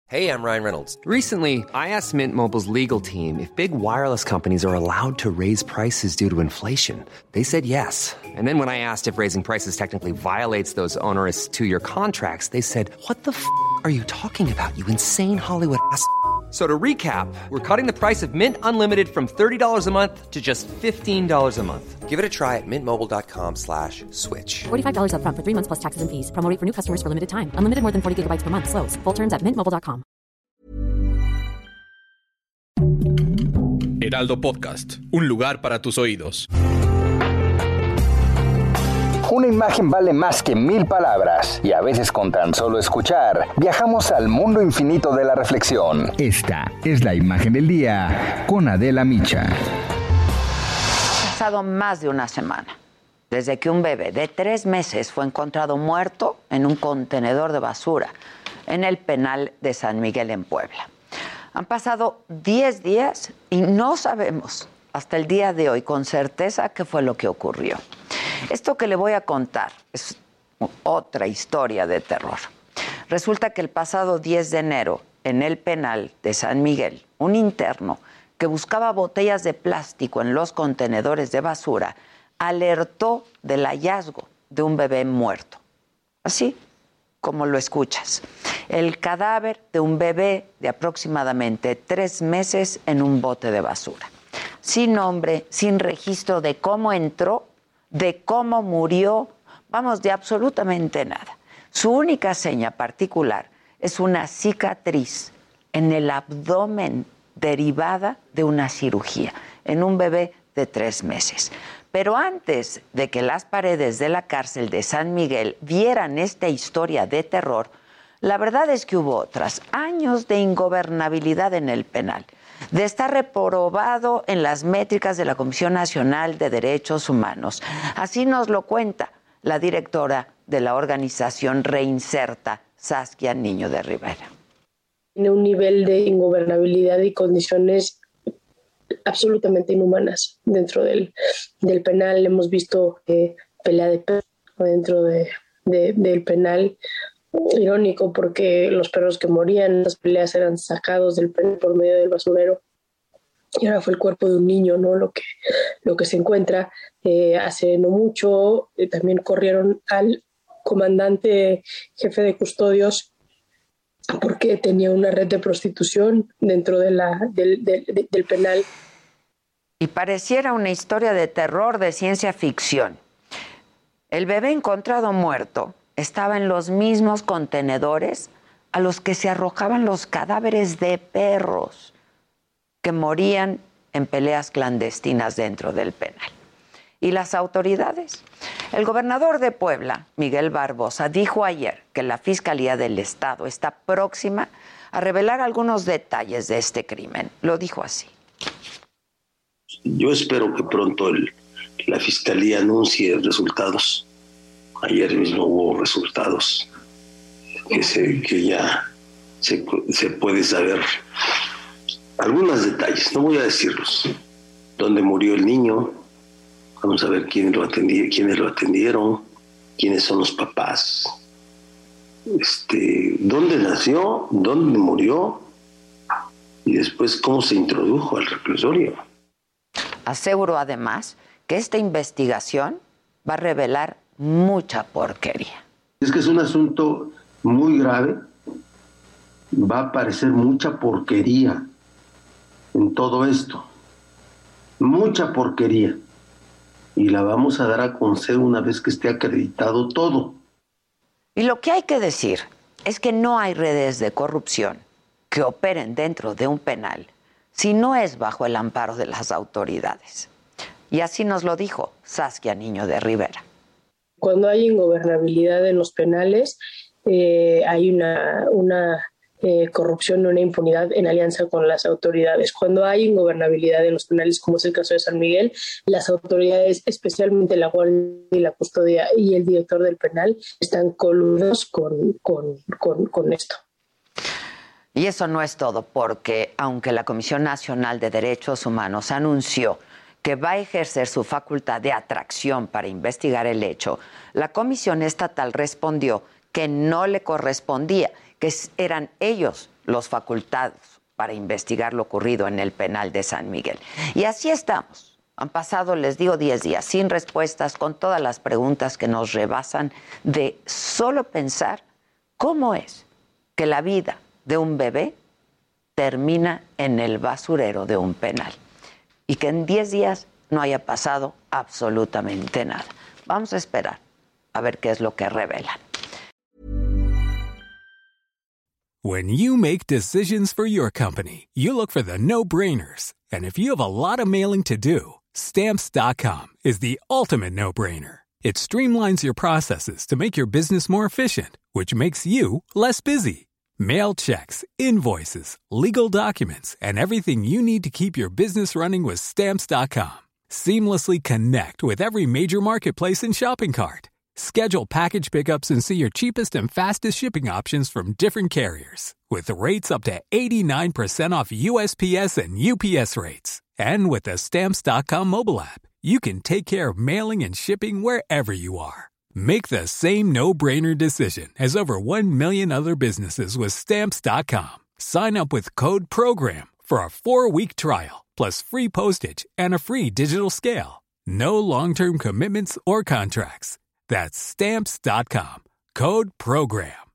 Hey, I'm Ryan Reynolds. Recently, I asked Mint Mobile's legal team if big wireless companies are allowed to raise prices due to inflation. They said yes. And then when I asked if raising prices technically violates those onerous two-year contracts, they said, "What the f*** are you talking about, you insane Hollywood ass?" So to recap, we're cutting the price of Mint Unlimited from $30 a month to just $15 a month. Give it a try at mintmobile.com/switch. $45 up front for 3 months plus taxes and fees. Promo rate for new customers for limited time. Unlimited more than 40 gigabytes per month. Slows full terms at mintmobile.com. Heraldo Podcast, un lugar para tus oídos. Una imagen vale más que 1000 palabras, y a veces con tan solo escuchar, viajamos al mundo infinito de la reflexión. Esta es la imagen del día con Adela Micha. Ha pasado más de una semana desde que un bebé de 3 meses fue encontrado muerto en un contenedor de basura en el penal de San Miguel en Puebla. Han pasado 10 días y no sabemos hasta el día de hoy con certeza qué fue lo que ocurrió. Esto que le voy a contar es otra historia de terror. Resulta que el pasado 10 de enero, en el penal de San Miguel, un interno que buscaba botellas de plástico en los contenedores de basura alertó del hallazgo de un bebé muerto. Así como lo escuchas. El cadáver de un bebé de aproximadamente 3 meses en un bote de basura. Sin nombre, sin registro de cómo entró, de cómo murió, vamos, de absolutamente nada. Su única seña particular es una cicatriz en el abdomen derivada de una cirugía, en un bebé de 3 meses. Pero antes de que las paredes de la cárcel de San Miguel vieran esta historia de terror, la verdad es que hubo otras, años de ingobernabilidad en el penal, de estar reprobado en las métricas de la Comisión Nacional de Derechos Humanos. Así nos lo cuenta la directora de la organización Reinserta, Saskia Niño de Rivera. Tiene un nivel de ingobernabilidad y condiciones absolutamente inhumanas dentro del penal. Hemos visto pelea de perros dentro del penal. Irónico porque los perros que morían en las peleas eran sacados del penal por medio del basurero, y ahora fue el cuerpo de un niño, ¿no? Lo que se encuentra. Hace no mucho también corrieron al comandante jefe de custodios porque tenía una red de prostitución dentro del penal. Y pareciera una historia de terror, de ciencia ficción. El bebé encontrado muerto estaba en los mismos contenedores a los que se arrojaban los cadáveres de perros que morían en peleas clandestinas dentro del penal. ¿Y las autoridades? El gobernador de Puebla, Miguel Barbosa, dijo ayer que la Fiscalía del Estado está próxima a revelar algunos detalles de este crimen. Lo dijo así. Yo espero que pronto la Fiscalía anuncie resultados. Ayer mismo hubo resultados que ya se puede saber algunos detalles, no voy a decirlos. ¿Dónde murió el niño? Vamos a ver quiénes lo atendieron, quiénes son los papás, dónde nació, dónde murió y después cómo se introdujo al reclusorio. Aseguró además que esta investigación va a revelar mucha porquería. Es que es un asunto muy grave, va a aparecer mucha porquería en todo esto, mucha porquería, y la vamos a dar a conocer una vez que esté acreditado todo. Y lo que hay que decir es que no hay redes de corrupción que operen dentro de un penal si no es bajo el amparo de las autoridades. Y así nos lo dijo Saskia Niño de Rivera. Cuando hay ingobernabilidad en los penales, hay una corrupción, una impunidad en alianza con las autoridades. Cuando hay ingobernabilidad en los penales, como es el caso de San Miguel, las autoridades, especialmente la Guardia y la Custodia y el director del penal, están coludos con esto. Y eso no es todo, porque aunque la Comisión Nacional de Derechos Humanos anunció que va a ejercer su facultad de atracción para investigar el hecho, la Comisión Estatal respondió que no le correspondía, que eran ellos los facultados para investigar lo ocurrido en el penal de San Miguel. Y así estamos. Han pasado, les digo, 10 días sin respuestas, con todas las preguntas que nos rebasan de solo pensar cómo es que la vida de un bebé termina en el basurero de un penal y que en 10 días no haya pasado absolutamente nada. Vamos a esperar a ver qué es lo que revelan. When you make decisions for your company, you look for the no-brainers. And if you have a lot of mailing to do, Stamps.com is the ultimate no-brainer. It streamlines your processes to make your business more efficient, which makes you less busy. Mail checks, invoices, legal documents, and everything you need to keep your business running with Stamps.com. Seamlessly connect with every major marketplace and shopping cart. Schedule package pickups and see your cheapest and fastest shipping options from different carriers, with rates up to 89% off USPS and UPS rates. And with the Stamps.com mobile app, you can take care of mailing and shipping wherever you are. Make the same no-brainer decision as over 1 million other businesses with Stamps.com. Sign up with code PROGRAM for a 4-week trial, plus free postage and a free digital scale. No long-term commitments or contracts. That's Stamps.com. Code PROGRAM.